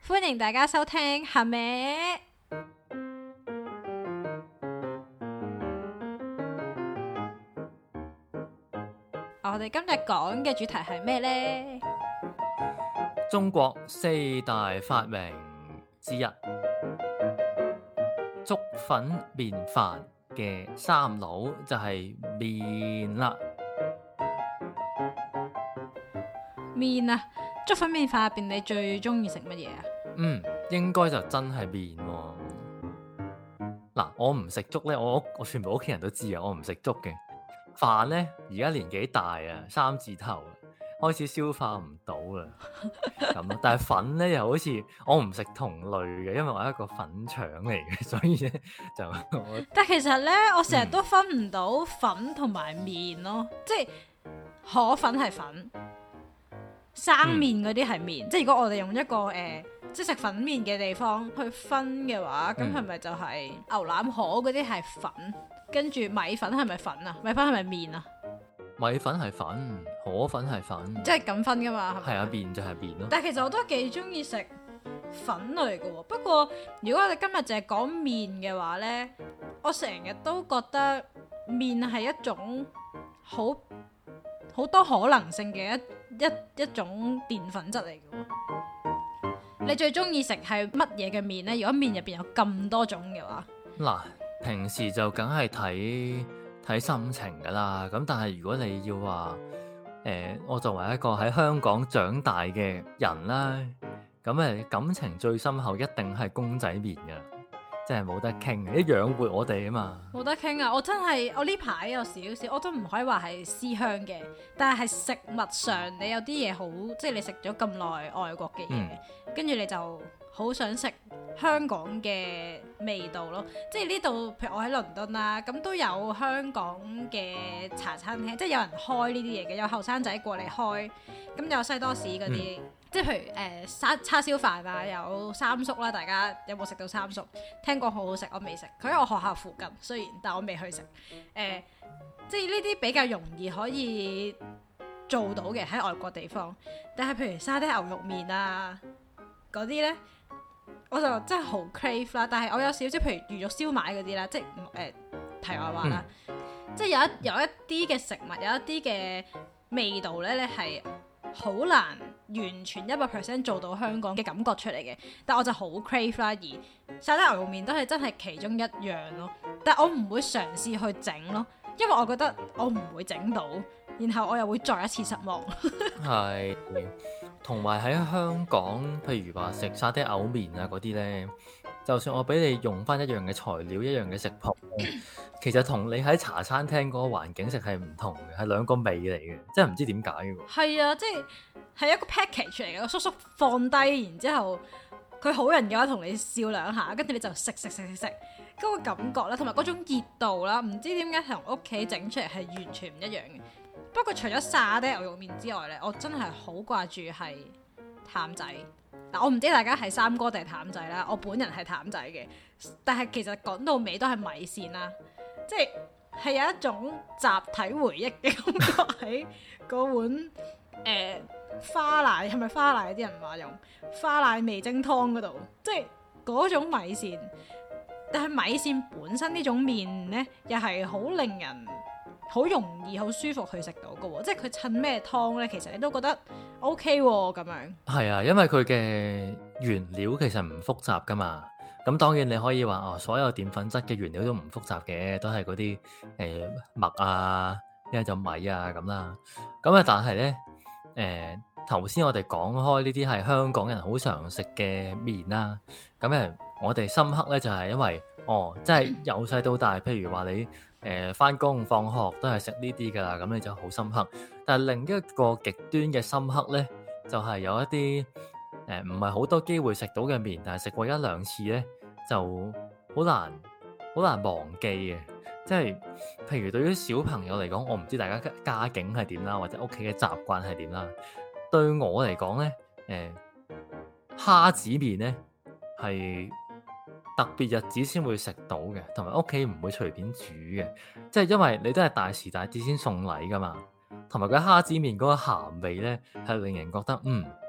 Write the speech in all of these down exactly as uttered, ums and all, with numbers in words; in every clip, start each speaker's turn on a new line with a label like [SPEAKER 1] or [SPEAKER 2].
[SPEAKER 1] 歡迎大家收聽係咪？我哋今日講嘅主題係咩呢？
[SPEAKER 2] 中國四大發明之一，粥粉麵飯嘅三佬就係麵啦。
[SPEAKER 1] 麵啊，粥粉麵飯入邊你最中意食乜嘢啊？
[SPEAKER 2] 嗯，應該就真係麵喎。嗱，我唔食粥咧，我我全部屋企人都知啊，我唔食粥嘅。飯咧，而家年紀大啊，三字頭開始消化唔到啦，咁咯。但係粉咧又好似我唔食同類嘅，因為我係一個粉腸嚟嘅，所以咧就我。
[SPEAKER 1] 但係其實咧，我成日都分唔到粉同埋麵咯，嗯、即係河粉係粉，生麵嗰啲係麵。嗯、即係如果我哋用一個誒、呃，即係食粉麵嘅地方去分嘅話，咁係咪就係牛腩河嗰啲係粉？跟住米粉係咪粉啊？米粉係咪麵啊？米粉係
[SPEAKER 2] 粉，河粉係粉，
[SPEAKER 1] 即係咁分噶嘛？係啊，
[SPEAKER 2] 麵就係麵咯。
[SPEAKER 1] 但係其實我都幾中意食粉類嘅喎。不過如果我哋今日淨係講麵嘅話呢，我成日都覺得麵係一種好好多可能性嘅一一一種澱粉質嚟嘅喎。你最中意食係乜嘢嘅麵呢？如果麵入邊有咁多種嘅話，
[SPEAKER 2] 嗱。平時就梗係睇睇心情噶啦，咁但係如果你要話，誒、呃，我作為一個喺香港長大嘅人啦，咁誒感情最深厚一定係公仔麵噶，即係冇得傾，啲養活我哋啊嘛。冇
[SPEAKER 1] 得傾啊！我真係我呢排有少少，我都唔可以話係思鄉嘅，但係係食物上你有啲嘢好，即係你食咗咁耐外國嘅嘢，跟住、嗯、你就好想食香港嘅味道咯，即係呢度，譬如我喺倫敦啦，咁都有香港嘅茶餐廳，即係有人開呢啲嘢嘅，有後生仔過嚟開，咁有西多士嗰啲，嗯、即係譬如誒沙、呃、叉燒飯啊，有三叔啦，大家有冇食到三叔？聽講好好食，我未食，佢喺我學校附近，雖然但我未去食，誒、呃，即係呢啲比較容易可以做到嘅喺外國地方，但係譬如沙爹牛肉麵啊嗰啲呢。我就真係好 crave 啦，但係我有少少譬如魚肉燒賣嗰啲啦，即係誒、呃、題外話啦，嗯、即係有一有一啲嘅食物，有一啲嘅味道咧，你係好難完全一百 percent 做到香港嘅感覺出嚟嘅，但我就好 crave 啦，而沙爹牛肉麵都係真係其中一樣咯，但係我唔會嘗試去整咯，因為我覺得我唔會整到，然後我又會再一次失望。
[SPEAKER 2] 係。同埋喺香港，譬如話食沙爹牛麵啊嗰啲呢，就算我俾你用翻一樣嘅材料、一樣嘅食譜，其實同你喺茶餐廳嗰個環境食係唔同嘅，係兩個味嚟嘅，真係唔知點解嘅喎。係
[SPEAKER 1] 啊，即係係一個 package 嚟嘅，個叔叔放低，然之後佢好人嘅話同你笑兩下，跟住你就食食食食食，嗰個感覺啦，同埋嗰種熱度啦，唔知點解同屋企整出嚟係完全唔一樣嘅。不過除咗沙爹牛肉麵之外咧，我真係好掛住係譚仔。嗱，我唔知大家係三哥定係譚仔啦，我本人係譚仔嘅。但係其實講到尾都係米線啦，即係係有一種集體回憶嘅感覺喺嗰碗誒、呃、花奶，係咪花奶？啲人話用花奶味精湯嗰度，即係嗰種米線。但係米線本身呢種麵咧，又係好令人好容易、好舒服去食到嘅喎，即係佢襯咩湯咧，其實你都覺得 OK 喎咁樣。係
[SPEAKER 2] 啊，因為佢嘅原料其實唔複雜噶嘛。咁當然你可以話哦，所有澱粉質嘅原料都唔複雜嘅，都係嗰啲誒麥啊，一係就米啊咁啦。咁啊，但係咧誒頭先我哋講開呢啲係香港人好常食嘅麵啦。咁誒，我哋深刻咧就係、是、因為哦，即係由細到大，譬如話你。誒，翻工放學都係食呢啲噶啦，咁你就好深刻。但係另一個極端嘅深刻呢，就係、是、有一啲誒唔係好多機會食到嘅麵，但係食過一兩次呢，就好難好難忘記嘅。即係譬如對於小朋友嚟講，我唔知大家家境係點啦，或者屋企嘅習慣係點啦。對我嚟講呢，誒蝦子麵呢係特別日子先會食到嘅，同埋屋企唔會隨便煮嘅，即係因為你都係大時大節先送禮噶嘛，同埋個蝦子麵嗰個鹹味咧，係令人覺得嗯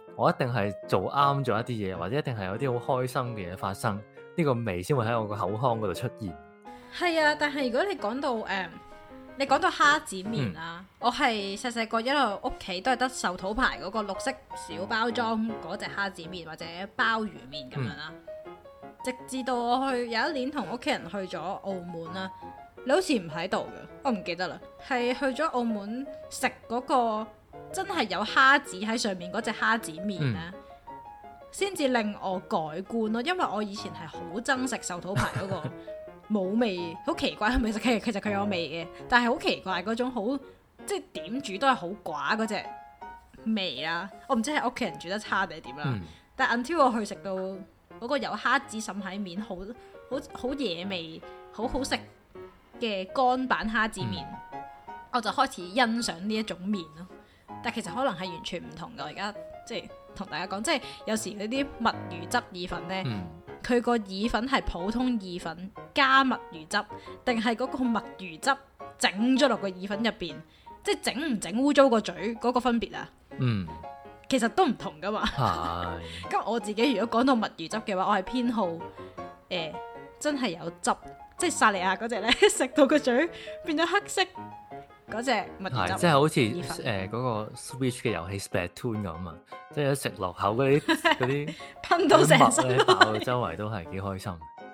[SPEAKER 2] 我一定係做啱咗一啲嘢，或者一定係有啲好開心嘅嘢發生，呢、這個味先會喺我個口腔嗰度出現。
[SPEAKER 1] 係啊，但係如果你講到誒、嗯，你講到蝦子麵啊，嗯、我係細細個一路屋企都係得壽桃牌嗰個綠色小包裝嗰隻蝦子麵或者鮑魚麵咁樣啦。嗯、直至到我去有一年同屋企人去咗澳門啦，你好似唔喺度嘅，我唔記得啦，係去咗澳門食嗰、那個。真係有蝦子喺上面嗰隻蝦子麵咧，先至、嗯、令我改觀咯。因為我以前係好憎食壽桃牌嗰個冇味，好奇怪係咪？其實其實佢有味嘅，但係好奇怪嗰種好即係點煮都係好寡嗰隻味啦。我唔知係屋企人煮得差定係點啦。嗯、但係 until 我去食到嗰個有蝦子滲喺面，好好好惹味，好好食嘅乾版蝦子麵，嗯、我就開始欣賞呢一種麵咯。但其實可能係完全唔同嘅，我而家即係同大家講，即係有時嗰啲墨魚汁意粉呢，佢個、嗯、意粉係普通意粉加墨魚汁，定係嗰個墨魚汁整咗落個意粉入邊，即係整唔整污糟個嘴嗰個分別啊？嗯，其實都唔同噶嘛。係。咁我自己如果講到墨魚汁嘅話，我係偏好誒、呃、真係有汁，即係薩莉亞嗰隻呢，食到個嘴變咗黑色。嗰隻墨魚汁，
[SPEAKER 2] 即係好似誒嗰個 Switch 嘅遊戲 Splatoon 咁啊！即係一食落口嗰啲嗰啲
[SPEAKER 1] 噴到成身
[SPEAKER 2] 爆到周圍都係幾開心。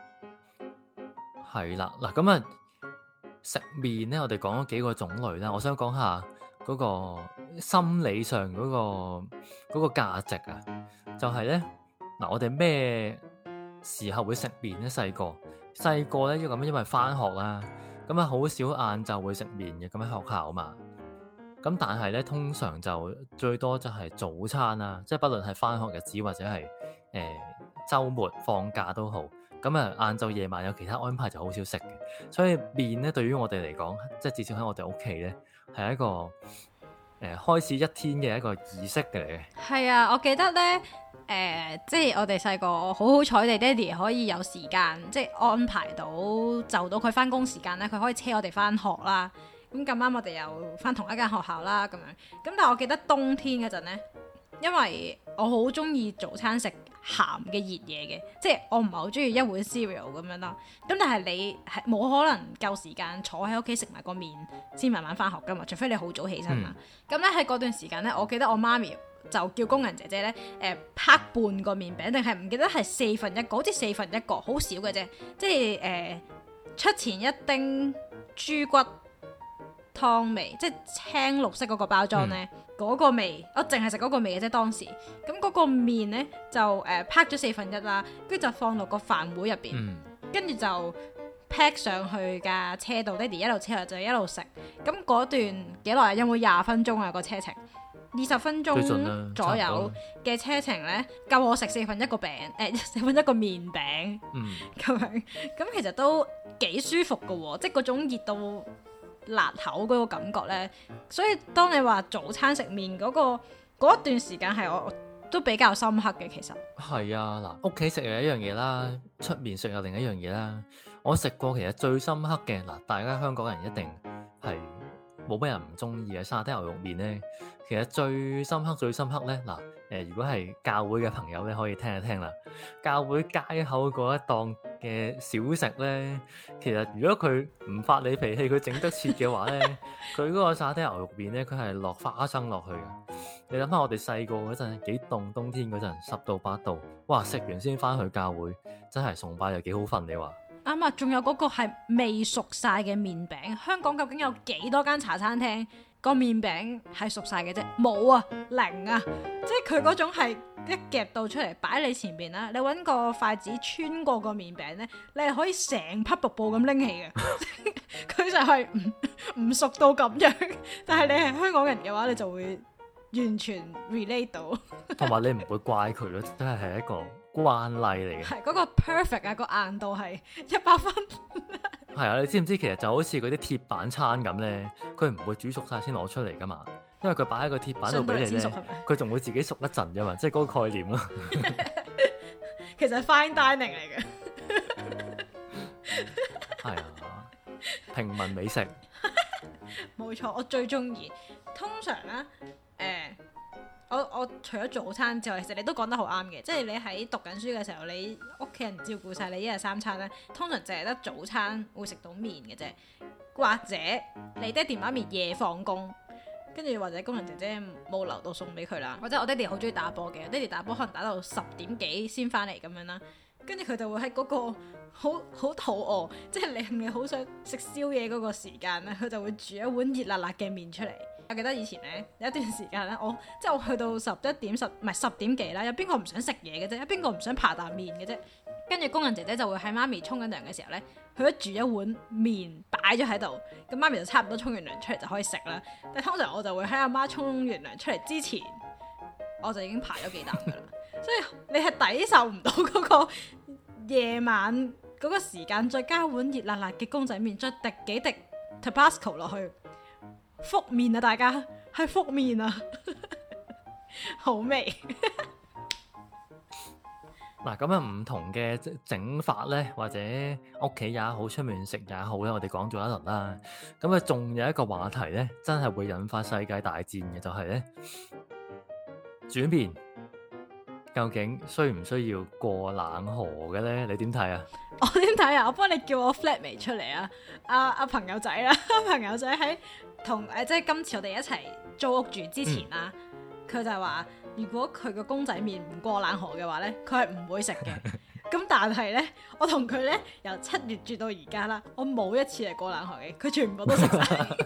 [SPEAKER 2] 係啦，嗱咁啊，食麵咧，我哋講咗幾個種類啦。我想講下嗰個心理上嗰個嗰個價值啊，就係咧嗱，我哋咩時候會食麵咧？細個細個咧，要咁因為返學啦。咁啊，好少晏晝會食麵嘅，咁喺學校嘛。咁但係咧，通常就最多就係早餐啦，即係不論係返學日子或者係誒週末放假都好。咁啊，晏晝夜晚有其他安排就好少食嘅。所以麵咧，對於我哋嚟講，即係至少喺我哋屋企咧，係一個誒、呃、開始一天嘅一個儀式嘅嚟嘅。
[SPEAKER 1] 係啊，我記得咧。誒、呃，即係我哋細個好好彩地，爹哋可以有時間，即係安排到就到佢翻工時間咧，佢可以車我哋翻學啦。咁咁啱我哋又翻同一間學校啦，咁樣。咁但係我記得冬天嗰陣咧，因為我好中意早餐食鹹嘅熱嘢嘅，即係我唔係好中意一碗 cereal 咁樣啦。咁但係你係冇可能夠時間坐喺屋企食埋個麵先慢慢翻學噶嘛，除非你好早起身嘛。咁咧喺嗰段時間咧，我記得我媽咪就叫工人姐姐咧，誒、呃、拍半個麵餅，定係唔記得係四分一個，好似四分一個，好少嘅啫。即係誒、呃、出前一丁豬骨湯味，即係青綠色嗰個包裝咧，嗰、嗯、個味，我淨係食嗰個味嘅啫。當時咁嗰個麵咧就誒拍咗四分一啦，跟住就放落個飯碗入邊，跟住、嗯、就 pack 上去架車度，爹哋一路車就一路食。咁嗰段幾耐啊？有冇廿分鐘啊？個車程？二十分鐘左右嘅車程咧，夠我食四分一個餅，誒、呃、四分一個麵餅，咁、嗯、樣，咁其實都幾舒服㗎喎，即係嗰種熱到辣口嗰個感覺咧。所以當你話早餐食麵嗰、嗰個嗰一段時間係我都比較深刻嘅，其實
[SPEAKER 2] 係啊，嗱，屋企食又一樣嘢啦，出面食又另一樣嘢啦。我食過其實最深刻嘅嗱，大家香港人一定係冇乜人唔中意嘅沙爹牛肉麵咧。其實最深刻、最深刻咧，嗱，誒，如果係教會嘅朋友咧，可以聽一聽啦。教會街口嗰一檔嘅小食咧，其實如果佢唔發你脾氣，佢整得切嘅話咧，佢嗰個沙爹牛肉麵咧，佢係落花生落去嘅。你諗下，我哋細個嗰陣幾凍，冬天嗰陣十度八度，哇！食完先翻去教會，真係崇拜又幾好瞓，你話？
[SPEAKER 1] 啱啊！仲有嗰個係未熟晒嘅麵餅，香港究竟有幾多間茶餐廳？個麵餅係熟晒嘅啫，冇啊，零啊，即係佢嗰種係一夾到出嚟擺你前邊啦，你搵個筷子穿過個麵餅咧，你係可以成匹瀑布咁拎起嘅，佢就係唔唔熟到咁樣，但係你係香港人嘅話，你就會完全 relate 到，
[SPEAKER 2] 同埋你唔會怪佢咯，真係係一個慣例嚟嘅，
[SPEAKER 1] 係嗰個 perfect 啊，個硬度係一百分。
[SPEAKER 2] 係啊，你知唔知其實就好似嗰啲鐵板餐咁咧，佢唔會煮熟晒先攞出嚟噶嘛，因為佢擺喺個鐵板度俾你咧，佢仲會自己熟一陣啫嘛，即係嗰個概念咯。
[SPEAKER 1] 其實係 fine dining 嚟嘅。
[SPEAKER 2] 係啊，平民美食。冇
[SPEAKER 1] 錯，我最中意。通常咧，誒、呃， 我我除咗早餐之外，其實你都講得好啱嘅，即係你喺讀緊書嘅時候，你屋企人照顧晒你一日三餐咧，通常淨係得早餐會食到麵嘅啫，或者你爹哋媽咪夜放工，跟住或者工人姐姐冇留到餸俾佢啦，或者我爹哋好中意打波嘅，我爹哋打波可能打到十點幾先翻嚟咁樣啦，跟住佢就會喺嗰個好好肚餓，即係令你好想食宵夜嗰個時間咧，佢就會煮一碗熱辣辣嘅麵出嚟。我記得以前咧有一段時間咧，我即係我去到十一點十唔係十點幾啦，有邊個唔想食嘢嘅啫？有邊個唔想扒啖麵嘅啫？跟住工人姐姐就會喺媽咪沖緊涼嘅時候咧，佢都煮一碗麵擺咗喺度，咁媽咪就差唔多沖完涼出嚟就可以食啦。但係通常我就會喺阿媽沖完涼出嚟之前，我就已經排咗幾啖噶啦。所以你係抵受唔到嗰個夜晚嗰個時間，再加一碗熱辣辣嘅公仔麵，再滴幾滴 Tabasco 落去。福麵啊，大家係福麵啊，好味。
[SPEAKER 2] 嗱，咁樣唔同嘅整法咧，或者屋企也好，出面食也好咧，我哋講咗一輪啦。咁啊，仲有一個話題咧，真係會引發世界大戰嘅，就係咧煮麵究竟需唔需要過冷河嘅咧？你點睇啊？
[SPEAKER 1] 我點睇啊？我幫你叫我 flatmate 出嚟啊！阿、啊、阿朋友仔啦，朋友仔喺同誒，即係今次我哋一齊租屋住之前啦，佢、嗯、就話如果佢個公仔麵唔過冷河嘅話咧，佢係唔會食嘅。咁但係咧，我同佢咧由七月住到而家啦，我冇一次係過冷河嘅，佢全部都食晒。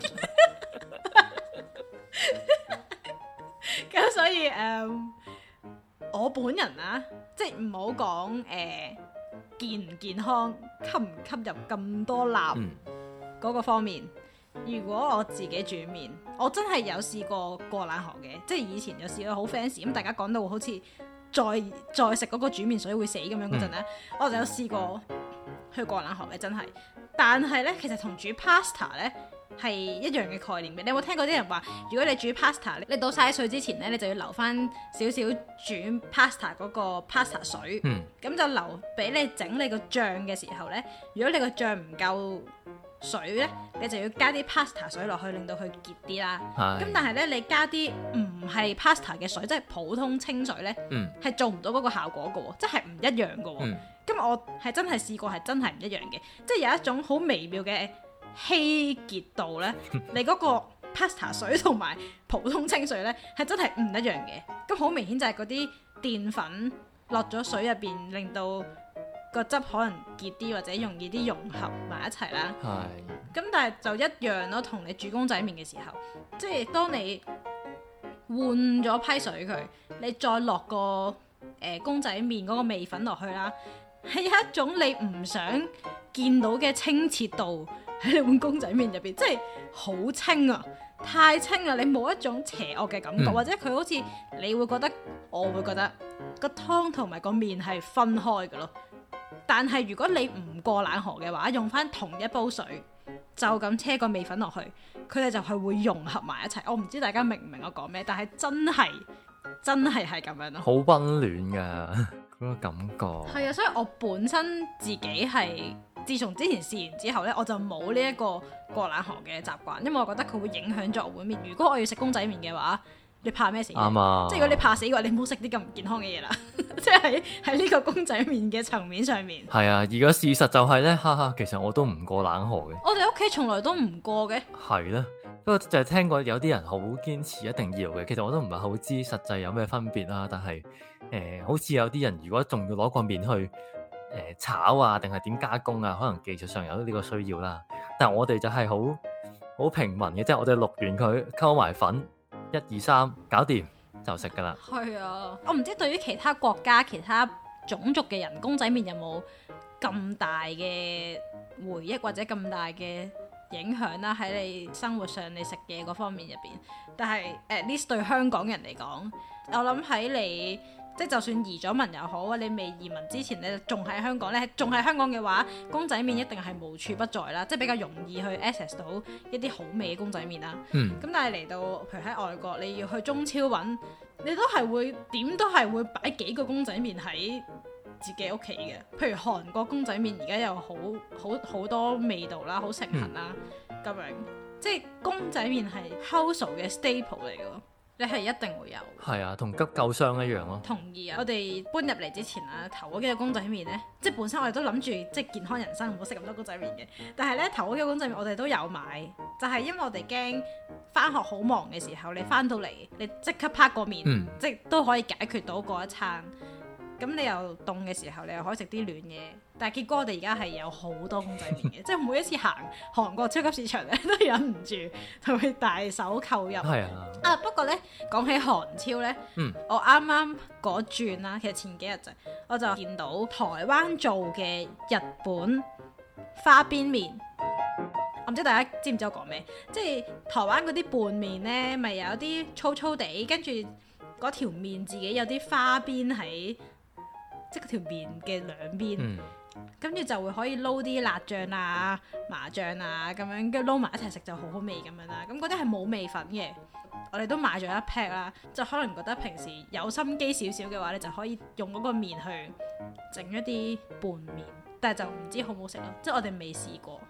[SPEAKER 1] 咁所以誒、呃，我本人啊，即係唔好講誒。健唔健康，吸唔吸入咁多鈉嗰個方面，嗯、如果我自己煮麵，我真係有試過過冷河嘅，即係以前有試過好 fancy 咁，大家講到好似再再食嗰個煮麵水會死咁樣嗰陣咧，嗯、我就有試過去過冷河嘅，真係。但係咧，其實同煮 pasta 咧係一樣嘅概念嘅。你有冇聽過啲人話，如果你煮 pasta，你倒晒水之前咧，你就要留翻少少煮 pasta 嗰個 pasta 水，咁、嗯、就留俾你整你個醬嘅時候咧。如果你個醬唔夠水咧，你就要加啲 pasta 水落去，令到佢結啲啦。咁是但係咧，你加啲唔係 pasta 嘅水，即係普通清水咧，係、嗯、做唔到嗰個效果嘅喎，即係唔一樣嘅喎。咁、嗯、我係真係試過，係真係唔一樣嘅，即係有一種好微妙嘅稀結度咧。你嗰個 pasta 水同埋普通清水咧，係真係唔一樣嘅。咁好明顯就係嗰啲澱粉落咗水入邊，令到個汁可能結啲或者容易啲融合埋一齊啦。係。咁但係就一樣咯，同你煮公仔麵嘅時候，即係當你換咗批水佢，你再落個誒、呃、公仔麵嗰個味粉落去啦，係有一種你唔想見到嘅清澈度喺你碗公仔麵入邊，即係好清啊，太清啦，你冇一種邪惡嘅感覺，嗯、或者佢好似你會覺得，我會覺得個湯同埋個麵係分開嘅咯。但係如果你唔過冷河嘅話，用翻同一煲水，就咁車個味粉落去，佢哋就係會融合埋一齊。我唔知大家明唔明我講咩，但係真係真係係咁樣咯，好溫
[SPEAKER 2] 暖噶嗰個感覺。
[SPEAKER 1] 係啊，所以我本身自己係自從之前試完之後呢，我就冇呢一個過冷河嘅習慣，因為我覺得佢會影響咗我碗麵。如果我要食公仔麵嘅話，你怕咩死？啱啊！即係如果你怕死嘅話，你唔好食啲咁唔健康嘅嘢啦。即係喺呢個公仔麵嘅層面上面。
[SPEAKER 2] 係啊，而家事實就係咧，哈哈，其實我都唔過冷河嘅。
[SPEAKER 1] 我哋屋企從來都唔過嘅。
[SPEAKER 2] 係啦，不過就係聽過有啲人好堅持一定要嘅。其實我都唔係好知實際有咩分別啦。但係誒、呃，好似有啲人如果仲要攞個麵去誒、呃、炒啊，定係點加工啊，可能技術上有呢個需要啦。但係我哋就係好好平民嘅，即係我哋淥完佢溝埋粉。一二三，搞掂就食噶啦。係
[SPEAKER 1] 啊，我唔知對於其他國家、其他種族嘅人，公仔麵有冇咁大嘅回憶或者咁大嘅影響啦？喺你生活上你食嘢嗰方面入邊，但係 at least 對香港人嚟講，我諗喺你即係就算移咗民又好，你未移民之前你仲喺香港咧，仲喺香港嘅話，公仔麵一定係無處不在啦，即係比較容易去 access 到一啲好味嘅公仔麵啦。嗯。咁但係嚟到譬如喺外國，你要去中超揾，你都係會點都係會擺幾個公仔麵喺自己屋企嘅。譬如韓國公仔麵而家又好好好多味道啦，好盛行啦，咁、嗯、樣即係公仔麵係 household 嘅 staple 嚟嘅。 你係一定會有。
[SPEAKER 2] 係啊，同急救箱一樣咯。
[SPEAKER 1] 同意啊！我哋搬入嚟之前啊，頭嗰幾個公仔麵呢，即係本身我哋都諗住即係健康人生唔好食咁多公仔麵嘅，但係呢，頭嗰幾個公仔麵我哋都有買，就係、是、因為我哋驚翻學好忙嘅時候，你翻到嚟你即刻拍個麵，嗯、即係都可以解決到嗰一餐。咁你又凍嘅時候，你又可以食啲暖嘢。但係結果我哋而家係有好多公仔麵嘅，即係每一次行韓國超級市場咧，都忍唔住就會大手購入。係啊！啊不過咧，講起韓超咧，嗯、我啱啱嗰轉啦，其實前幾日就我就見到台灣做嘅日本花邊麵。我唔知大家知唔知我講咩？即係台灣嗰啲拌麵咧，咪有啲粗粗地，跟住嗰條麵自己有啲花邊喺。即係條麵嘅兩邊，跟住、嗯、就會可以撈啲辣醬啊、麻醬啊咁樣，跟住撈埋一齊食就好好味咁樣啦。咁嗰啲係冇味粉嘅，我哋都買咗一 pack 啦。就可能覺得平時有心機少少嘅話，你就可以用嗰個麵去整一啲拌麵，但係就唔知好唔好食咯。即係我哋未試過。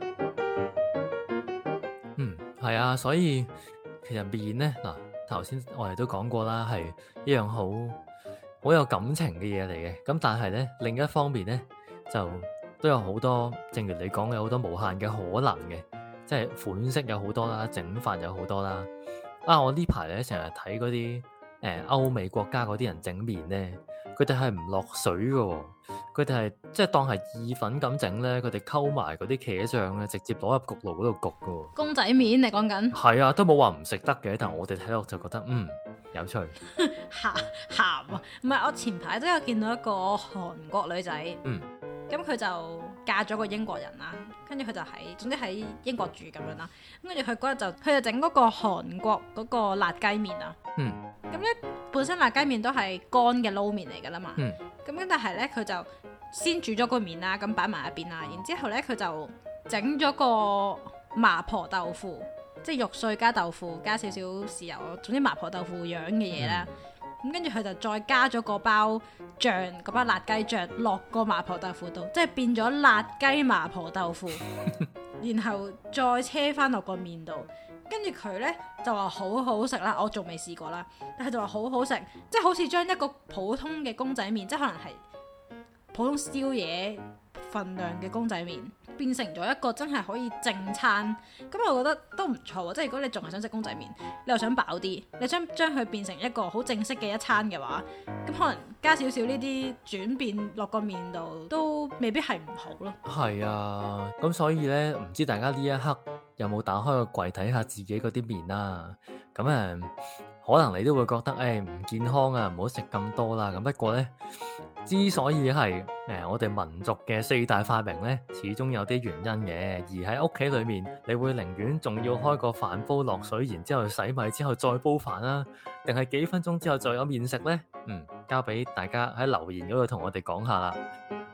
[SPEAKER 2] 嗯，係啊，所以其實麵呢，嗱頭先我哋都講過啦，係一樣好好有感情嘅嘢嚟嘅，咁但係咧另一方面咧就都有好多，正如你講嘅好多無限嘅可能嘅，即係款式有好多啦，整法有好多啦。啊，我呢排咧成日睇嗰啲誒歐美國家嗰啲人整麵咧，佢哋係唔落水嘅，佢哋係即係當係意粉咁整咧，佢哋溝埋嗰啲茄醬咧，直接攞入焗爐嗰度焗嘅。公仔麵你講緊？係啊，都冇話唔食得嘅，但係我哋睇落就覺得嗯。有趣，鹹鹹啊！唔係，我前排都有見到一個韓國女仔，嗯，咁佢就嫁咗個英國人啦，跟住佢就喺，總之喺英國住咁樣啦。咁跟住佢嗰日就，佢就整嗰個韓國嗰個辣雞麵啊，嗯，咁咧本身辣雞麵都係乾嘅撈麵嚟噶啦嘛，嗯，咁跟但係咧佢就先煮咗個麵啦，咁擺埋一邊啦，然之後咧佢就整咗個麻婆豆腐。即係肉碎加豆腐加少少豉油，總之麻婆豆腐樣嘅嘢啦。咁跟住佢就再加咗個包醬，嗰包辣雞醬落個麻婆豆腐度，即係變咗辣雞麻婆豆腐。然後再車翻落個麵度，跟住佢呢就話好好食啦。我仲未試過啦，但係就話好好食，即係好似將一個普通嘅公仔麵，即係可能係普通宵夜份量嘅公仔麵，變成咗一個真係可以正餐，咁我覺得都唔錯喎。即係如果你仲係想食公仔麵，你又想飽啲，你想將佢變成一個好正式嘅一餐嘅話，咁可能加少少呢啲轉變落個麵度，都未必係唔好咯。係啊，咁所以呢，唔知大家呢一刻有冇打開個櫃睇下自己嗰啲麵啊？咁誒、嗯，可能你都會覺得誒唔健康啊，唔好食咁多啦。咁不過呢，之所以係誒、呃、我哋民族嘅四大發明呢，始終有啲原因嘅。而喺屋企裏面，你會寧願仲要開個飯煲落水，然之後洗米之後再煲飯啦，定係幾分鐘之後再有麵食呢？嗯，交俾大家喺留言嗰度同我哋講下啦。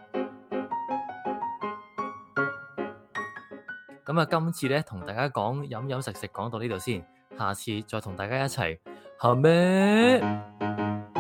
[SPEAKER 2] 咁啊，今次呢，同大家講飲飲食食講到呢度先。下次再同大家一齊，好咩？